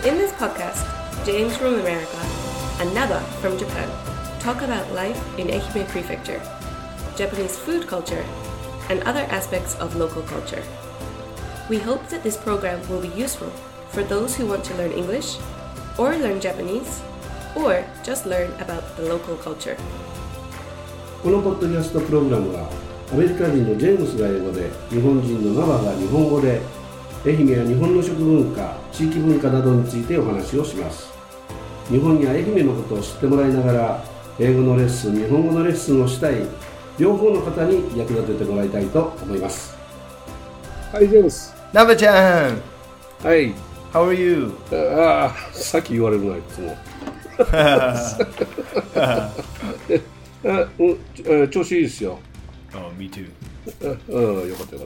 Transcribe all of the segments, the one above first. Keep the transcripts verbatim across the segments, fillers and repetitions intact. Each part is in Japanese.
In this podcast, James from America and Naba from Japan talk about life in Ehime Prefecture, Japanese food culture, and other aspects of local culture. We hope that this program will be useful for those who want to learn English, or learn Japanese, or just learn about the local culture. このポッドキャストプログラムはアメリカ人のジェームスが英語で、日本人のナバが日本語で、愛媛や日本の食文化、地域文化などについてお話をします。日本や愛媛のことを知ってもらいながら、英語のレッスン、日本語のレッスンをしたい両方の方に役立ててもらいたいと思います。はい、ジェームス。 ナバちゃん。 はい。 How are you? ああ、さっき言われるな、いつも。あ、うん、調子いいですよ。 Oh, me too. うん、よかったよかった。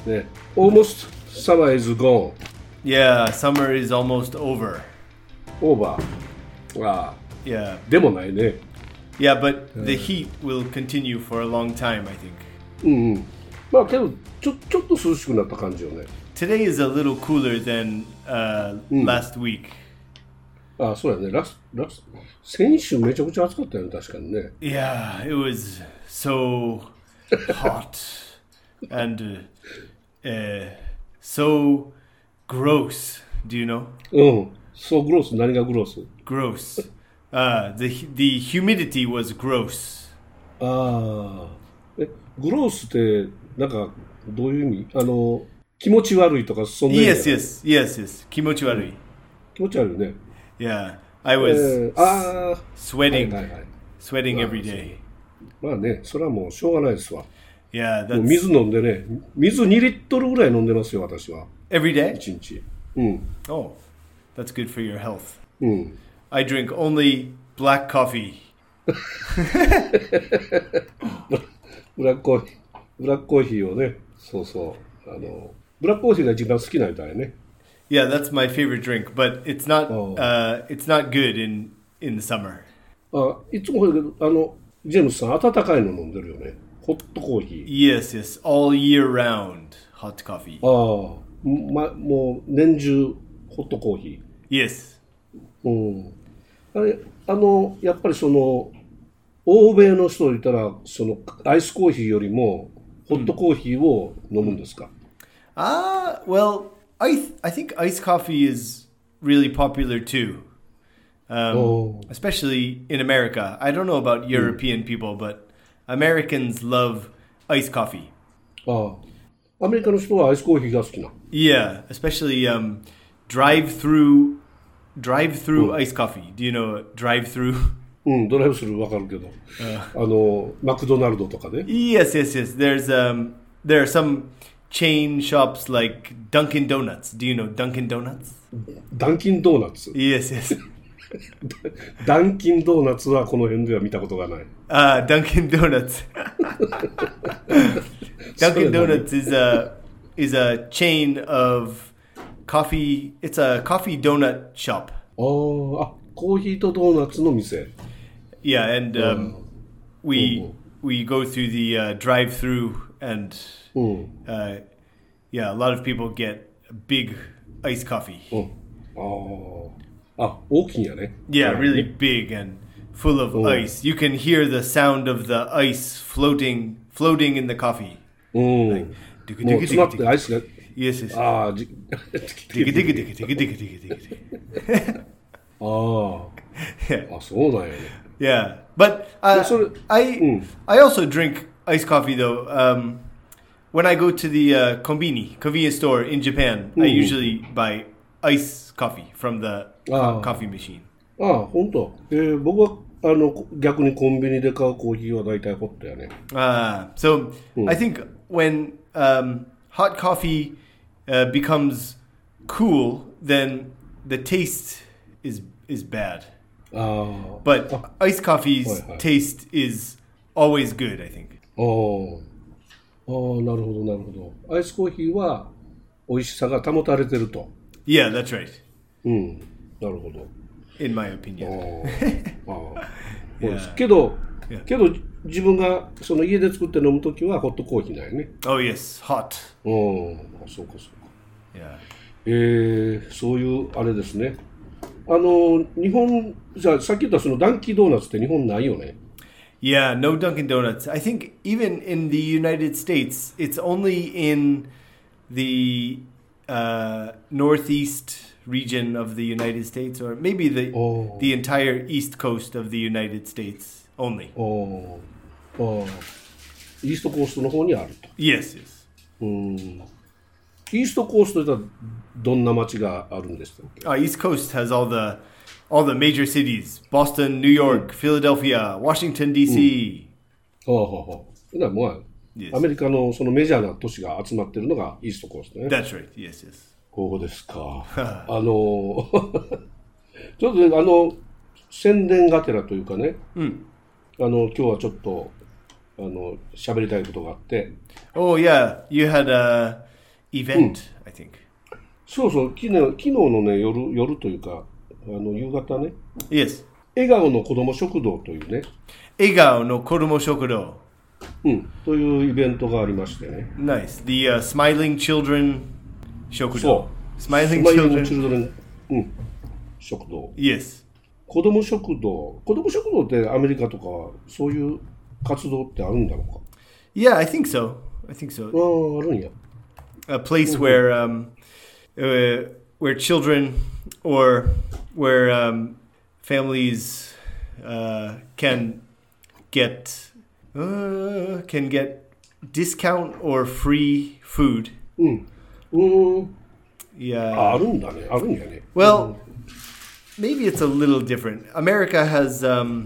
ね、almost summer is gone. Yeah, summer is almost over. Over. ああ。 Yeah. でもないね。 Yeah, but the heat will continue for a long time, I think. うんうん。まあけどちょちょっと涼しくなった感じよね。 Today is a little cooler than uh, last week. ああ、そうやね。ラスラス先週めちゃくちゃ暑かったよね、確かにね。 Yeah, it was so hot and uh, uh, so gross. Do you know? うん。そうグロス、何がグロス？ Gross. Uh, the the humidity was gross. ああ。え、グロスってなんかどういう意味？あの気持ち悪いとかそんな意味？ Yes, yes, yes, yes. 気持ち悪い。 気持ち悪いね。 Yeah, I was えー、あ sweating, はいはいはい、 sweating every day. まあね、それはもうしょうがないですわ。 Yeah, もう that's 水飲んでね、水にリットルぐらい飲んでますよ、私は。 every day. 一日。うん。 Oh, that's good for your health. うん。 I drink only black coffee. ブラックコーヒー、ブラックコーヒーをね、そうそう、あのブラックコーヒーが一番好きなみたいね。 Yeah, that's my favorite drink, but it's not. Oh. Uh, it's not good in in the summer. あ、いつもあのジェームスさん温かいの飲んでるよね。ホットコーヒー。 Yes, yes, all year round hot coffee. ああ、ま、もう年中ホットコーヒー。Yes. うん。あれ、あのやっぱりその欧米の人いたらそのアイスコーヒーよりもホットコーヒーを飲むんですか？ Ah, well, I th- I think iced coffee is really popular too, um, Oh. especially in America. I don't know about European people, but Americans love iced coffee. ああ、アメリカの人はアイスコーヒーが好きな。 Yeah, especially um, drive-through drive-through iced coffee. Do you know drive-through? うん、ドライブスルーわかるけど、あのマクドナルドとかね。 Yes, yes, yes. There's um, there are some chain shops like Dunkin' Donuts. Do you know Dunkin' Donuts? ダンキンドーナツ。 Yes, yes. ダンキンドーナツはこの辺では見たことがない。 Ah, Dunkin' Donuts. Dunkin' Donuts is a is a chain of coffee. It's a coffee donut shop. あーあ、コーヒーとドーナツの店。 Yeah, and um, we we go through the uh, drive-through, and uh, yeah, a lot of people get a big iced coffee. うん、ああ、大きいんやね。 Yeah, really big and full of ice. You can hear the sound of the ice floating floating in the coffee. うん。 Like, もう詰まってアイスが。 Yes, yes. ああ、じ。 Digga, digga, digga, digga, digga, digga, digga. ああ、あ、そうなんやね。 Yeah, but uh, I I also drink iced coffee though. Um, when I go to the uh, konbini convenience store in Japan, I usually buy ice coffee from the co- coffee machine. ああ、本当。えー、僕はあの逆にコンビニで買うコーヒーは大体ホットやね。 Ah, so I think when um, hot coffee uh, becomes cool, then the taste is is bad. Ah. But iced coffee's taste is always good, I think. ああ、ああ、なるほどなるほど。アイスコーヒーは美味しさが保たれてると。 Yeah, that's right. うん、なるほど。 In my opinion. ああ、そうです。けど、けど自分がその家で作って飲むときはホットコーヒーなんよね。 Oh yes, hot. うん、そうかそうか。 Yeah. えー、そういうあれですね。 あの日本じゃあさっき言ったそのダンキードーナツって日本ないよね。 Yeah, no Dunkin' Donuts. I think even in the United States, it's only in the uh, northeast region of the United States, or maybe the oh. the entire east coast of the United States only. Oh, oh. イーストコーストの方にあると。 Yes, yes. うん。イーストコーストではどんな街があるんですか？ Uh, East Coast has all the all the major cities: Boston, New York, Philadelphia, Washington D C. はあはあはあ。だからもう、yes. アメリカのそのメジャーな都市が集まってるのがイーストコーストね。 That's right. Yes, yes. こうですか。あのちょっと、ね、あの宣伝がてらというかね。 うん。 あの今日はちょっとあの喋りたいことがあって。 Oh yeah, you had a event, うん、I think. そうそう、昨日昨日のね夜夜というかあの夕方ね。 Yes. 笑顔の子ども食堂というね。 笑顔の子ども食堂。 うん、というイベントがありましてね。 Nice. The、uh, Smiling Children 食堂。 そう。 Smiling Children. Children、うん、食堂。 Yes. 子ども食堂。子ども食堂ってアメリカとかそういう活動ってあるんだろうか？ Yeah, I think so. I think so. ああ、あるんや。 A place where um, uh, where children or where um, families uh, can get uh, can get discount or free food. うん。うん。 Yeah. あ、あるんだね。あるんやね。 Well, maybe it's a little different. America has um,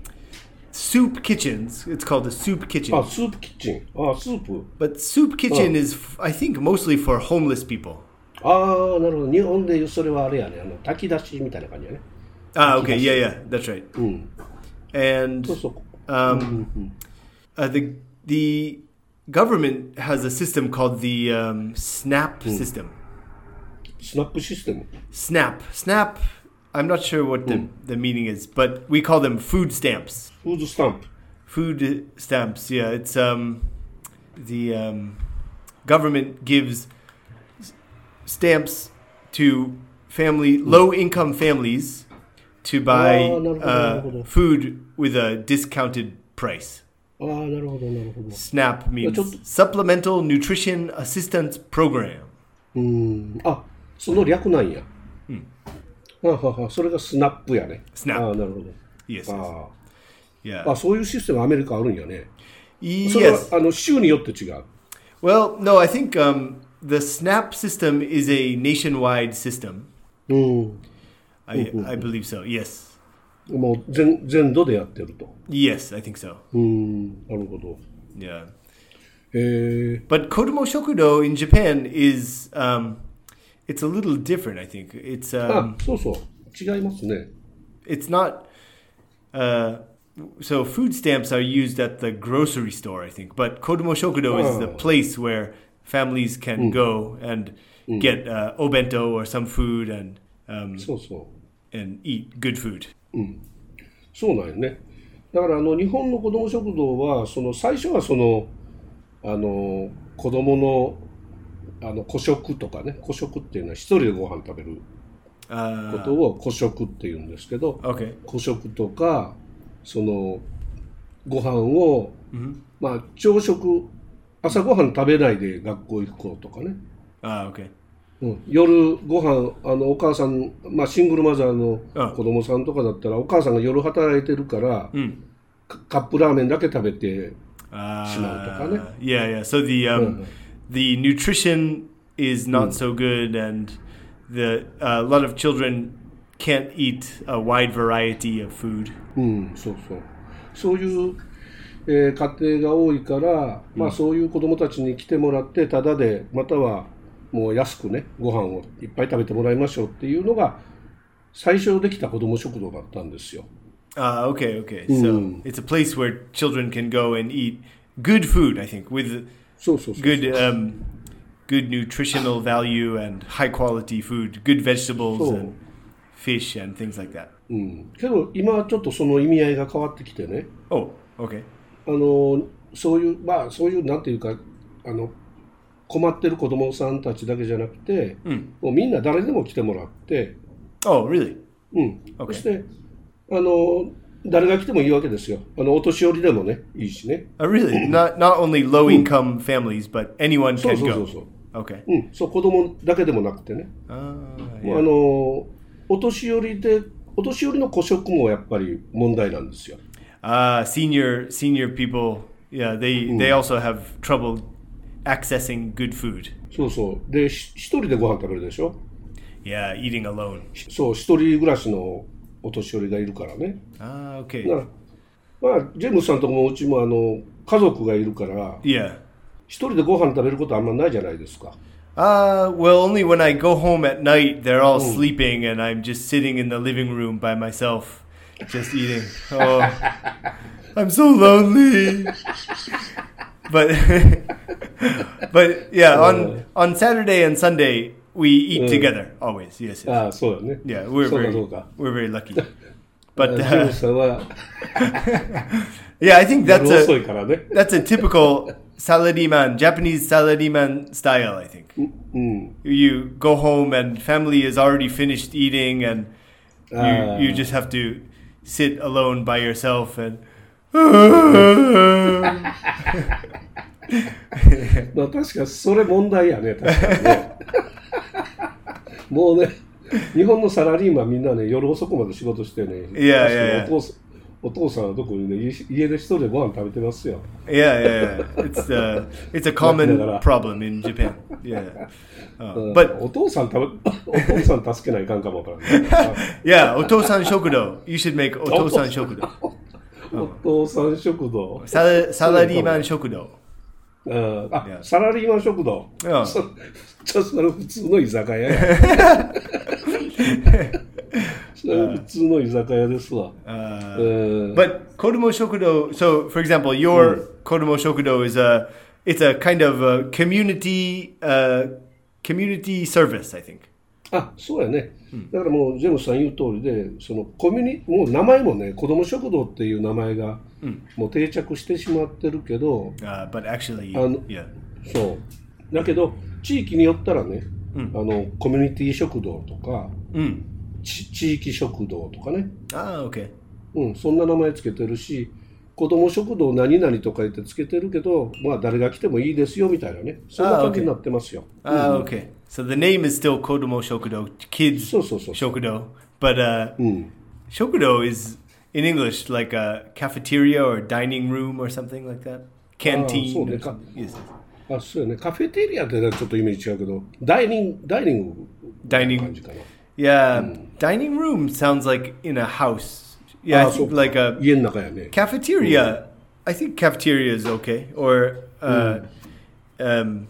soup kitchens. It's called a soup kitchen. あ、スープキッチン。あ、スープ。 But soup kitchen is, I think, mostly for homeless people. ああ、なるほど。日本でいうそれはあれやね。あの炊き出しみたいな感じやね。 Ah, okay. Yeah, yeah. That's right. うん。 And そうそう。 um, うんうん、 uh, the the government has a system called the um, SNAP system. スナップシステム。 SNAP. SNAP. I'm not sure what the, the meaning is, but we call them food stamps. フードスタンプ。 Food stamps. Yeah, it's um, the um, government gives stamps to family low-income families to buy uh, food with a discounted price. ああ、なるほど、なるほど。 SNAP means Supplemental Nutrition Assistance Program. うーん。あ、その略なんや。 うん。 ははは、それがスナップやね。 スナップ。 ああ、なるほど。 Yes. あ Yeah. あ、そういうシステムアメリカあるんやね。 Yes. それはあの州によって違う。 Well, no, I think um, the SNAP system is a nationwide system. うん。 I, I believe so. Yes. もう全全土でやってると。 Yes, I think so. うん、なるほど。 Yeah. えー、 But Kodomo Shokudo in Japan is um, it's a little different. I think it's um, あ、そうそう、違いますね。 It's not. Uh, so food stamps are used at the grocery store, I think. But Kodomo Shokudo is the place where families can go and get uh, obento or some food and um, そうそう。 and eat good food. うん、そうなんよね。だからあの日本の子ども食堂はその最初はそのあの子どものあの個食とかね、個食っていうのは一人でご飯食べることを個食っていうんですけど、 okay. 個食とかそのご飯を、 mm-hmm. まあ朝食朝ごはん食べないで学校行こうとかね。 ああ、OK。 うん、夜ご飯あのお母さん、まあ、シングルマザーの子供さんとかだったらお母さんが夜働いてるから、 うん、 カップラーメンだけ食べてしまうとかね。 Yeah, yeah. So the um, the nutrition is not so good, and the uh, a lot of children can't eat a wide variety of food. うん、そうそう。そういう、えー、家庭が多いから、まあそういう子供たちに来てもらってタダでまたはもう安くねご飯をいっぱい食べてもらいましょうっていうのが最初できた子ども食堂だったんですよ。 Ah, uh, okay, okay. So it's a place where children can go and eat good food, I think, with good um, good nutritional value and high quality food, good vegetables and fish and things like that. うん。けど今ちょっとその意味合いが変わってきてね。 Oh, okay. あのそういうまあそういうなんていうかあの困ってる子供さんたちだけじゃなくて、うん、もうみんな誰でも来てもらって、 oh, really? うん。そして、あの、誰が来てもいいわけですよ。あの、お年寄りでもね、いいしね。 Oh, really? not, not only low-income families, but anyone can go? そうそうそうそう。 Okay. うん、そう、子供だけでもなくてね。 あもうあの、お年寄りで、お年寄りの個食もやっぱり問題なんですよ。 Ah, uh, senior, senior people, yeah, they, they also have trouble accessing good food. そうそう。で、一人でご飯食べるでしょ Yeah, eating alone. そう、一人暮らしのお年寄りがいるからね。 Ah, okay. だからまあ、ジェームスさんとこもうちもあの家族がいるから、 Yeah. 一人でご飯食べることあんまないじゃないですか。 Uh, well, only when I go home at night, they're all mm. sleeping, and I'm just sitting in the living room by myself, just eating. Oh, I'm so lonely. But, but yeah, on on Saturday and Sunday we eat mm. together always. Yes. yes. Ah, so da ne. Yeah, we're very we're very lucky. But uh, yeah, I think that's a that's a typical salaryman, Japanese salaryman style, I think. Mm. You go home and family is already finished eating, and you, uh. you just have to sit alone by yourself and. まあ確かそれ問題やね、確かにね。もうね、日本のサラリーマンみんなね、夜遅くまで仕事してね。 いやいやいや。 お父さんはどこにね、家で一人でご飯食べてますよ。 Yeah, yeah, yeah. It's a, it's a common problem in Japan. Yeah. Uh, but お父さん食べ、お父さん助けないかんかもわからない。 Yeah, お父さん食堂。You should make お父さん食堂。 お父さん食堂。 サラ、サラリーマン食堂。 あ、yeah. サラリーマン食堂。 Yeah. そ, そ, それ普通の居酒屋や。それ普通の居酒屋ですわ。 Uh, uh, but Kodomo Shokudo, so for example, your mm. Kodomo Shokudo is a, it's a kind of a community, uh, community service, I think. あ、そうやね。だからもうジェームスさん言う通りで、そのコミュニもう名前もね、子ども食堂っていう名前がもう定着してしまってるけど、 uh, but actually, あの、 yeah. そう。だけど地域によったらね、うん、あのコミュニティ食堂とか、うん、地域食堂とかね。 ああ、OK。 うん、そんな名前つけてるし、子ども食堂何々とか言ってつけてるけど、まあ誰が来てもいいですよみたいなね。そんな感じになってますよ。 ああ、OK。So the name is still Kodomo Shokudo, kids Shokudo, but uh, mm. Shokudo is in English like a cafeteria or dining room or something like that. Canteen. そうね。Yes. あ、そうよね。カフェテリアってちょっとイメージ違うけど、ダイニングダイニング dining. Yeah, mm. dining room sounds like in a house. Yeah, ah, I think so like a 家の中やね。 cafeteria. Mm. I think cafeteria is okay, or uh, mm. um,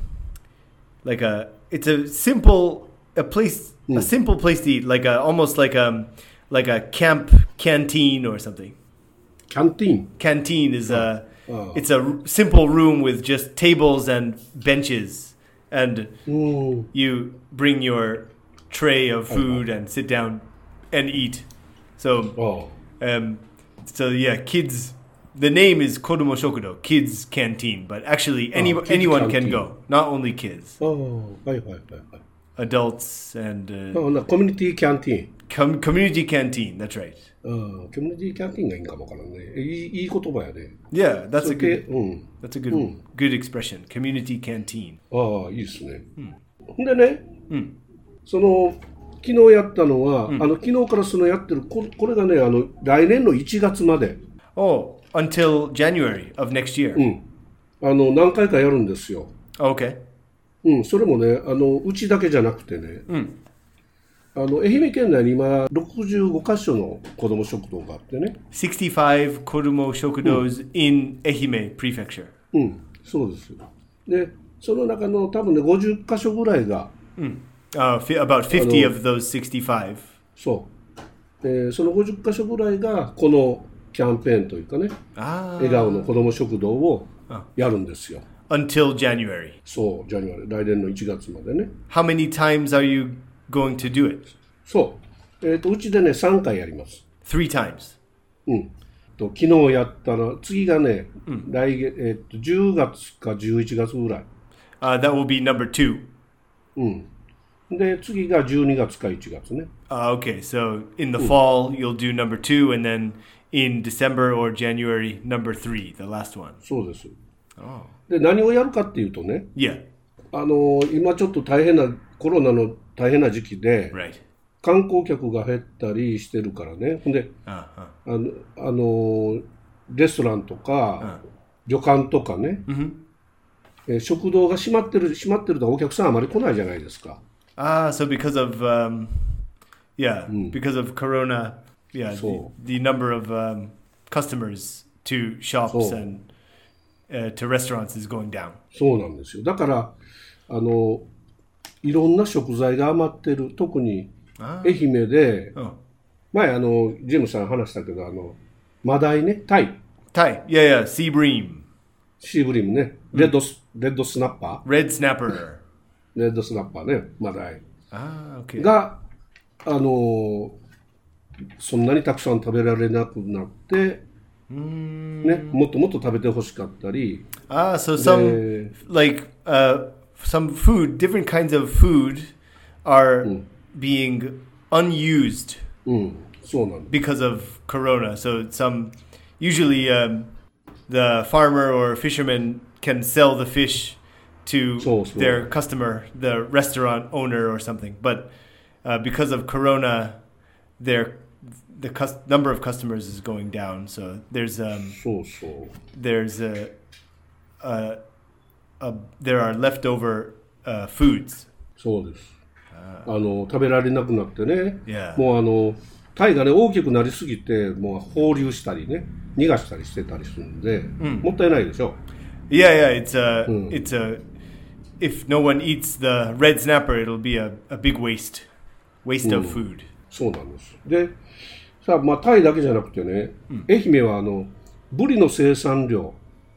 like a. It's a simple a place mm. a simple place to eat, like a almost like a like a camp canteen or something. Canteen. Canteen is oh. a oh. it's a simple room with just tables and benches, and mm. you bring your tray of food oh. and sit down and eat. So oh. um so yeah, kids. The name is Kodomo Shokudo, kids canteen, but actually any, oh, anyone canteen. Can go, not only kids. Oh, right, right, right, right. Adults and... Uh, oh, no, community canteen. Com- community canteen, that's right. Uh, community canteen がいいかもわからんね。いい、いい言葉やね。 Yeah, that's a good, that's a good, mm. good expression. Community canteen. ああ、いいですね。Mm. でね、mm. その、昨日やったのは、mm. あの、昨日からそのやってる、これ、これがね、あの、来年のいちがつまで。 Oh.Until January of next year. うん。あの、何回かやるんですよ。 Okay. うん、それもね、あの、うちだけじゃなくてね、うん、あの、愛媛県内に今、ろくじゅうごカ所の子ども食堂があってね。 sixty-five 子ども食堂 in 愛媛 prefecture. うん、そうです。で、その中の多分ね、ごじゅっカ所ぐらいが、 うん。Uh, about fifty of those sixty-five. そう。で、そのごじゅっカ所ぐらいが、この、キャンペーンというかね、笑顔の子ども食堂をやるんですよ。 Until January. そう、January、来年のいちがつまでね。 How many times are you going to do it? そう。えっと、うちでね、さんかいやります。 Three times? うん。と昨日やったの、次がね、うん、来月、えっと、じゅうがつかじゅういちがつぐらい。 Uh, that will be number two. うん。 で、次がじゅうにがつかいちがつね。 Uh, okay, so in the fall you'll do number two, and then in December or January number three, the last one. そうです。 Oh. で、何をやるかっていうとね、 Yeah. あの今ちょっと大変なコロナの大変な時期で、 Right. 観光客が減ったりしてるからね。ほんで、 Uh-huh. あのあのレストランとか、uh. 旅館とかね、 mm-hmm. え食堂が閉まってる閉まってるとお客さんあまり来ないじゃないですか。 Ah, so because of um, yeah, mm. because of Corona, yeah, the, the number of um, customers to shops and uh, to restaurants is going down. そうなんですよ。だからあのいろんな食材が余ってる。特に愛媛で、ah. 前あのジェームさん話したけどあのマダイね、タイ。 タイ、yeah, yeah, sea bream. シーブリームね、レッドス、mm. レッドスナッパー。 レッドスナッパー。 レッドスナッパーね、マダイ。 あ、okay. が、あのー、そんなにたくさん食べられなくなって、ね、もっともっと食べてほしかったり。 Ah, so some, like, uh, some food, different kinds of food are、うん、being unused、 うん、そうなんです。 because of Corona. So some, usually、um, the farmer or fisherman can sell the fish to so, so. their customer, the restaurant owner or something. But uh, because of Corona, their the cus- number of customers is going down. So there's um, so, so. there's a, a, a there are leftover uh, foods. そうです。あの食べられなくなってね。 Yeah. もうあのタイがね大きくなりすぎてもう放流したりね逃がしたりしてたりするんで、うん、もったいないでしょ。 Yeah, yeah, it's a, mm. it's a, if no one eats the red snapper, it'll be a, a big waste, waste、mm. of food. そうなんです。で、さあ、まあ、タイだけじゃなくてね、mm. 愛媛はあの、ブリの生産量、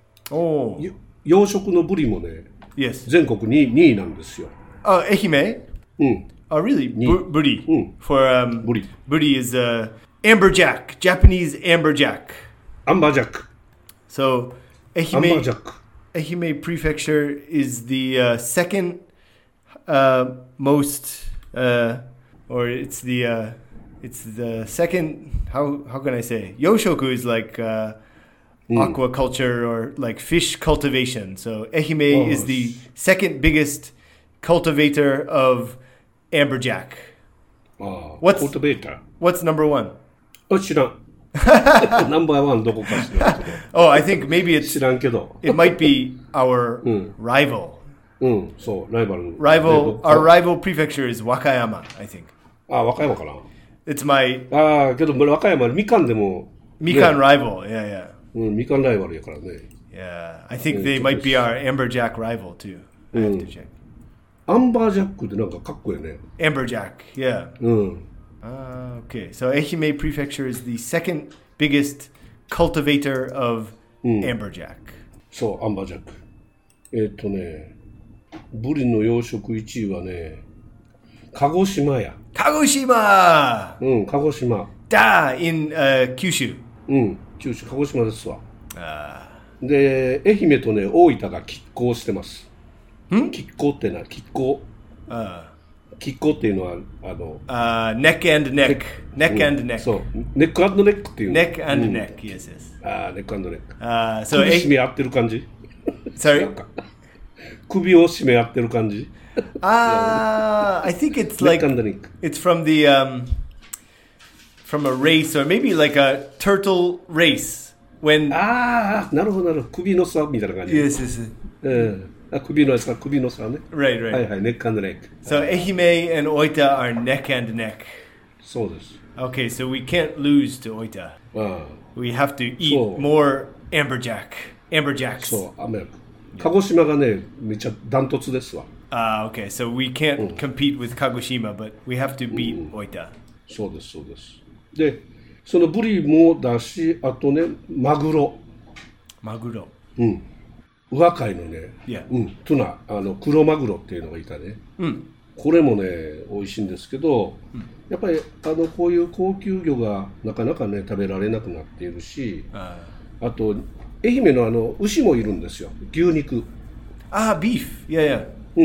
oh. 養殖のブリもね、 yes. 全国ににいなんですよ。 あ、愛媛? うん。 Oh, really? B- ブリ、 うん、 for, um, ブリ。 ブリ is uh, amberjack, Japanese amberjack. アンバージャック。 So, 愛媛、 アンバージャック。 Ehime Prefecture is the uh, second uh, most, uh, or it's the uh, it's the second. How how can I say? Yoshoku is like uh, mm. aquaculture or like fish cultivation. So Ehime oh. is the second biggest cultivator of amberjack. Oh, what's cultivator? What's number one? あ、知らん。ナンバーワンどこか知らんけど。 Oh, I think maybe it's 知らんけど。 It might be our、うん、rival. うん、そう、ライバル。 Rival, our rival prefecture is Wakayama, I think. あ、和歌山かな。 It's my. ああ、けど和歌山みかんでも。 みかん rival, yeah, yeah. うん、みかんライバルやからね。 Yeah, I think they might be our amberjack rival too. I have to check. アンバージャックってなんかかっこいいね。 Amberjack, yeah. うん。 Uh, okay, so Ehime Prefecture is the second biggest cultivator of、うん、amberjack. そう、アンバージャック。えー、っとね、ブリの養殖いちいはね、鹿児島や。 鹿児島うん、鹿児島。 だ、in、uh, 九州。 うん、九州、鹿児島ですわ。 あで、愛媛とね、大分が拮抗してます。 ん拮抗ってな、拮抗。 ああ。 拮抗っていうのは、あの、 uh, neck and neck. Neck and neck. そう、ネックアンドネックっていう。 neck and neck, yes, yes. ああ、ネックアンドネック。 ああ、 そう、首絞め合ってる感じ Sorry? 首を絞め合ってる感じああ、I think it's like, it's from the, um, from a race, or maybe like a turtle race. When... ああ、なるほど、なるほど。首の差みたいな感じ。 Yes, yes, yes. うん。あ、首の差、首の差ね。 Right, right. はいはい、ネックアンドネック。 So, Ehime and Oita are neck and neck. そうです。 Okay, so we can't lose to Oita. ああ。 We have to eat more amberjack. Amberjacks. そう、アメリカ。鹿児島がね、めっちゃダントツですわ。 Ah, uh, okay. So we can't、うん、compete with Kagoshima, but we have to beat、うん、Oita. そうです、そうです。で、そのブリもだし、あとね、マグロ。 マグロ。 うん。宇和海のね、 yeah. うん、トゥナ、あの黒マグロっていうのがいたね、 うん、 これもね美味しいんですけど、うん、やっぱりあのこういう高級魚がなかなかね食べられなくなっているし、 あ, あと愛媛のあの牛もいるんですよ、牛肉。 ああ、ビーフ、いやいや。 うん、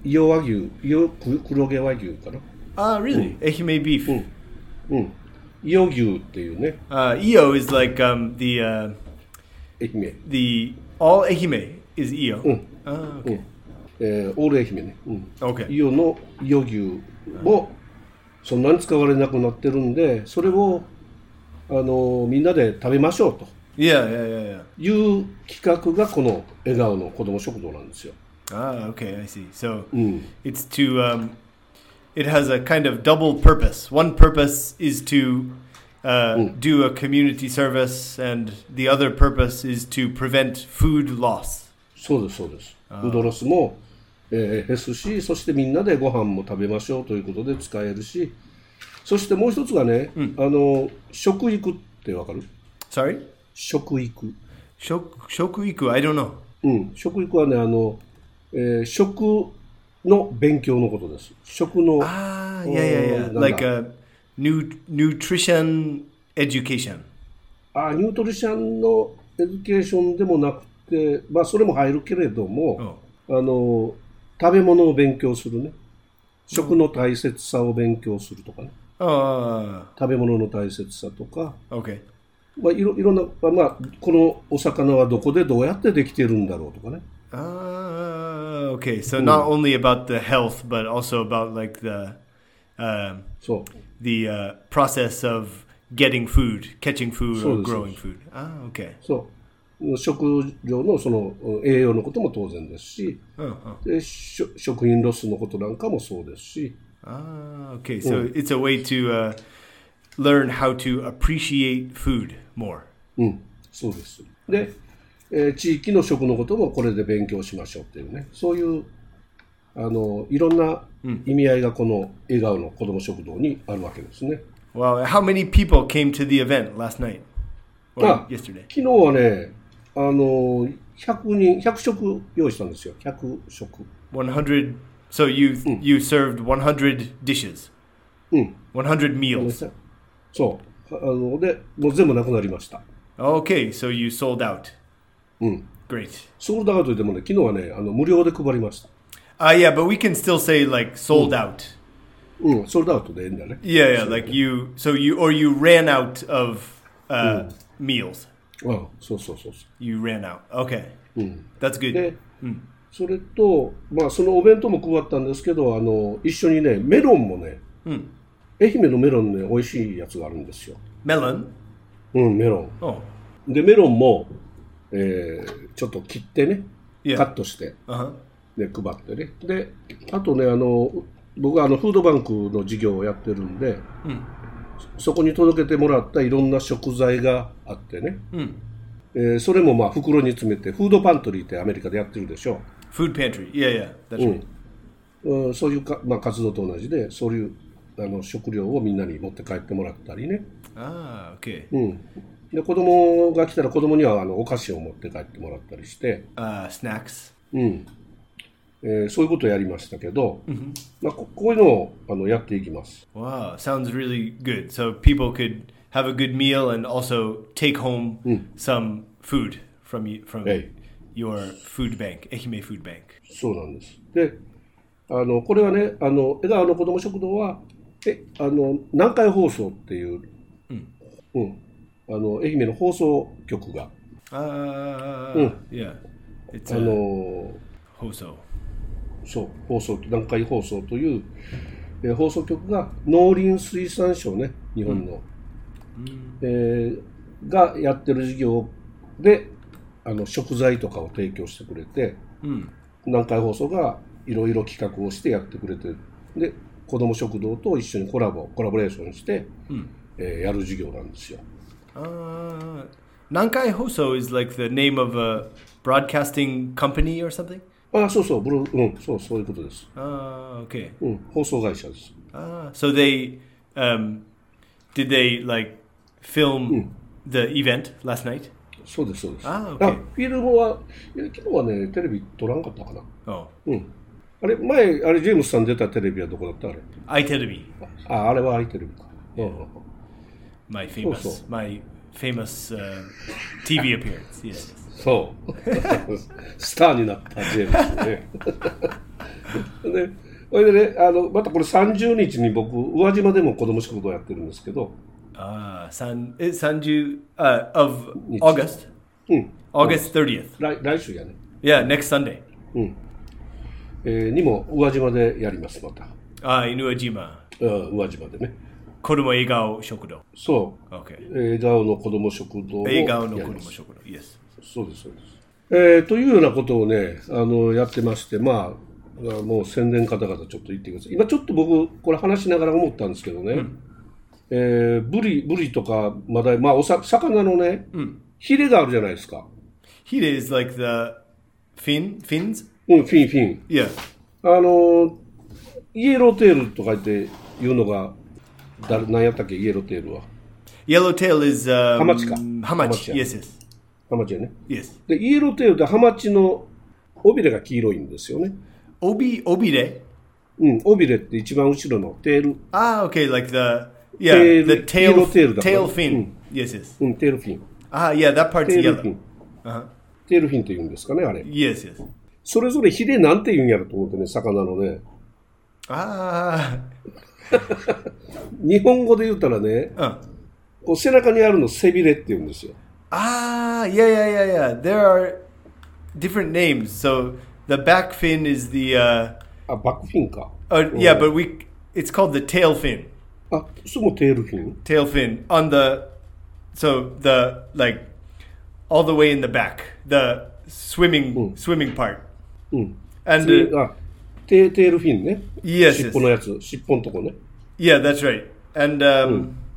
伊予和牛、伊予黒毛和牛かな。 Ah, really? Mm. Ehime beef. うん。うん。伊予牛っていうね。 Uh, Iyo is like um, the uh, 愛媛。 the all Ehime is Iyo. うん。 Ah, うん okay. えー、オール愛媛ね。うん。 Okay. 伊予の伊予牛もそんなに使われなくなってるんで、それをあのみんなで食べましょうと Yeah, yeah, yeah, yeah. いう企画がこの笑顔の子ども食堂なんですよ。 Ah, okay, I see. So うん。 it's to um, it has a kind of double purpose. One purpose is to uh, do a community service, and the other purpose is to prevent food loss. そうですそうです。フードロスも、えー減すし、そしてみんなでご飯も食べましょうということで使えるし、そしてもう一つがね、あの食育ってわかる？ Sorry? 食育。 Shok- shokuiku, I don't know. うん、食育はね、あの、えー食の勉強のことです。食の、 Ah, yeah, yeah, yeah. なんだ Like a nu- nutrition education. あニュートリションのエデュケーションでもなくて、まあそれも入るけれども、あの食べ物を勉強するね。食の大切さを勉強するとかね。 Oh, 食べ物の大切さとか、 okay. まあ、いろいろんな、まあ、このお魚はどこでどうやってできてるんだろうとかね。 Ah, okay. So not only about the health, but also about like the um, そう。 the uh, process of getting food, catching food, or So- so- growing food. Ah, okay. そう食料のその栄養のことも当然ですし、 Oh, oh. でしょ食品ロスのことなんかもそうですし、 Ah, okay. So it's a way to uh, learn how to appreciate food more. うん、そうです。で、えー地域の食のこともこれで勉強しましょうっていうね、そういうあのいろんな意味合いがこの笑顔の子ども食堂にあるわけですね。 Wow. How many people came to the event last night or あ yesterday? 昨日はね、あのひゃくにん、ひゃく食用意したんですよ。ひゃく食。 one hundred. So you you served one hundred dishes, うん。 one hundred meals. そう。あので、もう全部なくなりました。 Okay. So you sold out. うん。 Great. ソールドアウトでもね、昨日はね、あの無料で配りました。 Uh, yeah, but we can still say like sold out. うん、ソールドアウトでいいんだね。 Yeah, yeah. Like you. So you or you ran out of uh, meals. ああそうそうそうそ You ran out. Okay. う。うん。 That's good. で、それと、まあ、そのお弁当も配ったんですけど、あの一緒にね、メロンもね、愛媛のメロンね、美味しいやつがあるんですよ。 Melon. うん、メロン。 Oh. で、メロンも、えーちょっと切ってね、 Yeah. カットして、 Uh huh. ね、配ってね。で、あとね、あの、僕はあのフードバンクの事業をやってるんで、そそこに届けてもらったいろんな食材があってね、えーそれもまあ袋に詰めて、フードパントリーってアメリカでやってるでしょ。 Food pantry. Yeah, yeah. That's right. うん、そういうか、まあ、活動と同じで、そういうあの食料をみんなに持って帰ってもらったりね。 Ah, okay. うん、で子供が来たら子供にはあのお菓子を持って帰ってもらったりして、 Uh, snacks. うんえーそういうことをやりましたけど、まあ、ここういうのをあのやっていきます。 Wow, sounds really good. So people could have a good meal and also take home some food from you, from Hey. your food bank, Ehime Food Bank. そうなんです。で、あのこれはね、あの笑顔の子ども食堂はえあの南海放送っていう、うんあの愛媛の放送局が、 Uh, yeah. It's あ a の hoso. そう放送南海放送という、えー放送局が農林水産省ね日本の、えーがやってる事業であの食材とかを提供してくれて、南海放送がいろいろ企画をしてやってくれてで子ども食堂と一緒にコラボコラボレーションして、えーやる事業なんですよ。 Uh, Nankai Hoso is like the name of a broadcasting company or something? あそうそうブロうんそうそういうことです。 Uh, okay. うん放送会社です。 Uh, so they, um, did they like film the event last night? そうですそうです。 あ OK あフィルムはいや昨日はねテレビ撮らんかったかな。 Oh, うんあれ前あれジェームスさん出たテレビはどこだったあれ？ iTelebi, ああれはアイテレビか。うん my famous, so. my famous uh, T V appearance. Yes. そうスターになったジェームスね。 で、それでね、あのまたこれさんじゅうにちに僕宇和島でも子ども食堂やってるんですけど。 ああ、さんじゅう、uh, of August? うん。 August thirtieth. 来, 来週やね。 Yeah, next Sunday. うん。えー、にも宇和島でやります、また。 ああ、宇和島。 うん、宇和島でね。 子供笑顔食堂。 そう。 Okay. 笑顔の子供食堂を笑顔の子供食堂。Yes. そうです、そうです。えー、というようなことをね、あの、やってまして、まあ、もう宣伝方々ちょっと言ってください。今ちょっと僕、これ話しながら思ったんですけどね、うん、えー、ブリ、ブリとか、まだ、まあ、おさ、魚のね、うん、ヒレがあるじゃないですか。 ヒレ is like the fin, fins? うん、フィン、フィン。 Yeah. あの、イエローテールとか言って言うのが、だ何やったっけ、イエローテールは。 Yellow tail is、um, ハマチか。 ハマチ。Yes, yes. ハマチやね。 Yes. で、イエローテールでハマチの尾びれが黄色いんですよね。 尾び、尾びれ？ うん、尾びれって一番後ろのテール。 ああ、okay, like the, yeah, the tail, tail fin. うん、 yes, yes. うん、テールフィン。 ああ、yeah, that part's テール yellow. フィン。 Uh-huh. テールフィンって言うんですかね、あれ。 Yes, yes. それぞれヒレなんて言うんやろと思ってね、魚のね。 ああ。 日本語で言ったらね、 うん、 こう背中にあるの背びれって言うんですよ。 Ah, yeah, yeah, yeah, yeah. There are different names. So the back fin is the. Uh, あ、バックフィンか。 uh, yeah, but we it's called the tail fin. あ、それもテールフィン。 Tail fin on the, so the like all the way in the back, the swimming、うん、swimming part. うん。 And uh, あ、テ, テールフィンね。 Yes. 尻尾のやつ、尻尾のとこね。 Yeah, that's right. And um, うん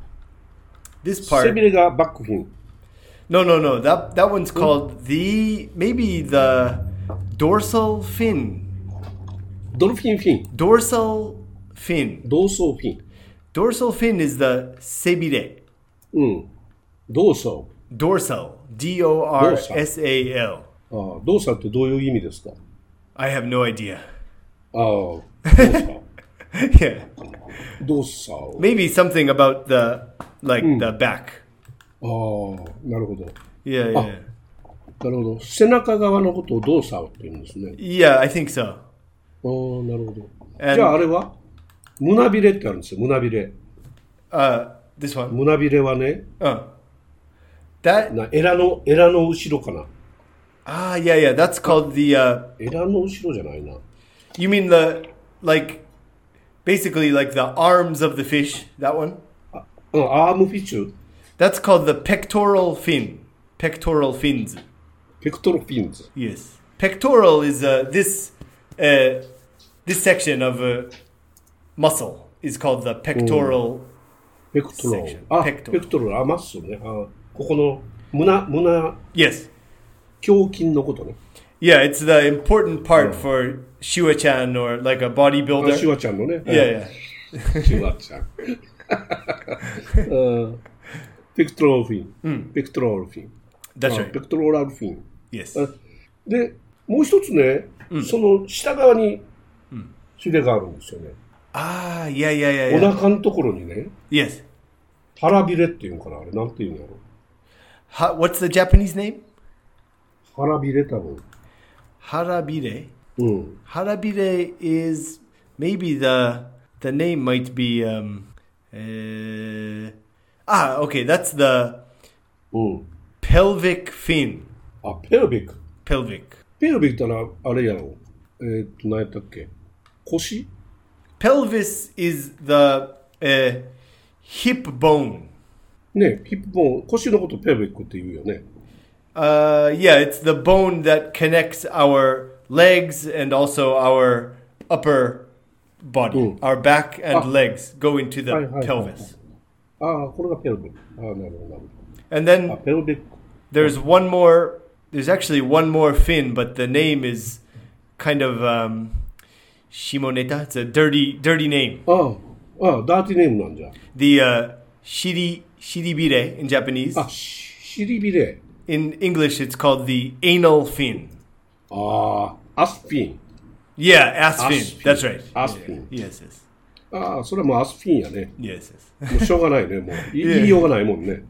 、this part. 背びれがバックフィン。 No, no, no. That that one's called the maybe the dorsal fin. ドルフィンフィン。 Dorsal fin. ドーソーフィン。 Dorsal fin is the sebire. うん。ドーソー。Dorsal. D O R S A L. ああ、ドーサルってどういう意味ですか？ I have no idea. ああ、ドーサル。 Yeah. ドーサル。 Maybe something about the like、うん、the back. ああ、なるほど。 いやいや。なるほど。背中側のことをドーサーって言うんですね。 いや、I think so. ああ、なるほど。じゃああれは胸びれってあるんですよ、胸びれ。 Uh, this one? 胸びれはね、 うん。That... なエラの、エラの後ろかな。 Ah, yeah, yeah. That's called the... Uh... エラの後ろじゃないな。 You mean the, like, basically like the arms of the fish, that one? あ、うん、アームフィッシュ。 That's called the pectoral fin. Pectoral fins. Pectoral fins. Yes. Pectoral is uh, this uh, this section of a muscle is called the pectoral section. Ah, pectoral. Ah, muscle ね。あ、ここの胸胸。 Yes. 胸筋のことね。 Yeah, it's the important part for Shua-chan or like a bodybuilder. あ、シュワちゃんのね。 Yeah, yeah. シュワちゃん。Pectoral fin. Pectoral fin. That's right. Pectoral fin. Yes. で、もう一つね、その下側にヒレがあるんですよね。 ああ、いやいやいやいや。 お腹のところにね。 Yes. 腹びれっていうのかな、あれなんていうんやろ。 は、What's the Japanese name? 腹びれ多分。 腹びれ。 うん。 腹びれ is maybe the the name might be um. Uh, ah, okay, that's the うん。 pelvic fin. あ、ペルビック。 pelvic. ペルビックってのはあれやろ。えー、っと、何やったっけ？腰？ Pelvis is the、uh, hip bone. ね、ヒップボーン、腰のことペルビックって言うよね。 Uh, yeah, it's the bone that connects our legs and also our upper body. うん、our back and legs go into the、はいはいはい、pelvis. ああ、これがペルビック。ああ、なるほど、なるほど。 And then あ、ペルビック。 there's one more, there's actually one more fin, but the name is kind of um, Shimoneta. It's a dirty, dirty name. ああ、ああ、ダーティーネームなんじゃ。 The uh, shiri, shiribire in Japanese. あ、しりびれ。 In English, it's called the anal fin. ああ、アスフィン。 Yeah, ass fin. That's right. アスフィン。 Yes, yes. ああ、それはもうアスフィンやね。 Yes, yes. もうしょうがないね、もう。言いようがないもんね。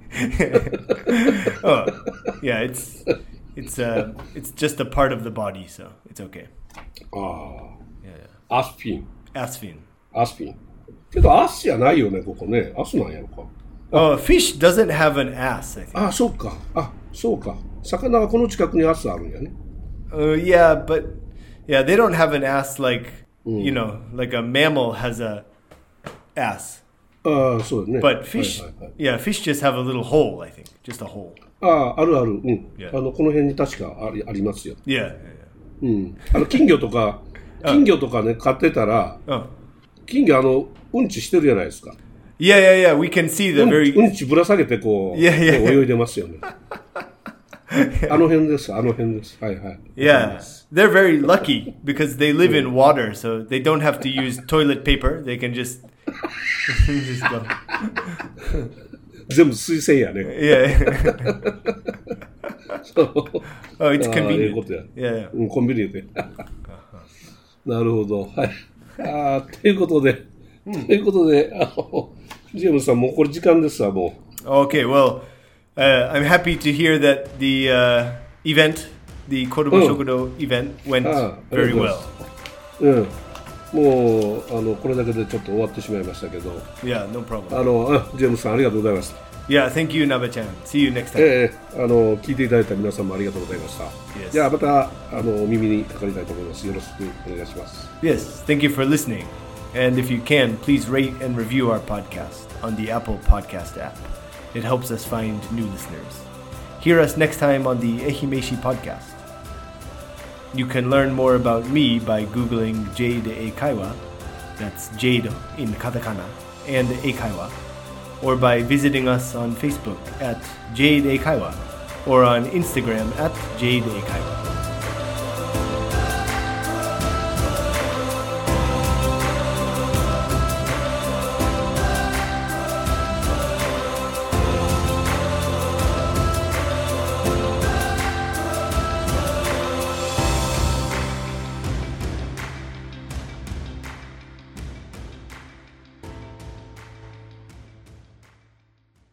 Oh, yeah, it's it's uh it's just a part of the body, so it's okay. ああ。 Yeah, yeah. アスフィン。 アスフィン。 アスフィン。けど、アスじゃないよね、ここね。アスなんやろか。 Oh, fish doesn't have an ass, I think. あ、そうか。あ、そうか。魚はこの近くにアスあるんやね。 Uh, yeah, but yeah, they don't have an ass like, mm. you know, like a mammal has a ass. ああ、そうだね。 But fish, はいはいはい、yeah, fish just have a little hole, I think. Just a hole. ああ、あるある。うん。 Yeah. あの、この辺に確かあり、ありますよ。 Yeah. yeah. うん。あの、金魚とか、金魚とかね、飼ってたら、uh. 金魚、あの、うんちしてるじゃないですか。 Yeah, yeah, yeah. We can see the very... うんちぶら下げてこう、 yeah, yeah. 泳いでますよね。あの辺です、あの辺です。はいはい。 Yeah, they're very lucky because they live in water, so they don't have to use toilet paper. They can just, just go. 全部水洗やね。 Yeah. Oh, it's convenient. ことや。 Yeah, yeah. うん、コンビニで。なるほど。はい。あということで、ということで、あの、ジェームスさん、もうこれ時間ですわ、もう。 Okay, well, uh, I'm happy to hear that the uh, event, the Kodomo Shokudo event, went very well. うん。もう、あの、これだけでちょっと終わってしまいましたけど。 Yeah, no problem. あの、ジェームスさん、ありがとうございました。 Yeah, thank you, Naba-chan. See you next time. ええ、あの、聞いていただいた皆さんもありがとうございました。 Yes. じゃあ、また、あの、お耳にかかりたいと思います。よろしくお願いします。 Yes, thank you for listening. And if you can, please rate and review our podcast on the Apple Podcast app. It helps us find new listeners. Hear us next time on the Ehimeshi Podcast. You can learn more about me by Googling Jade Eikaiwa, that's Jade in katakana, and Eikaiwa, or by visiting us on Facebook at Jade Eikaiwa, or on Instagram at Jade Eikaiwa.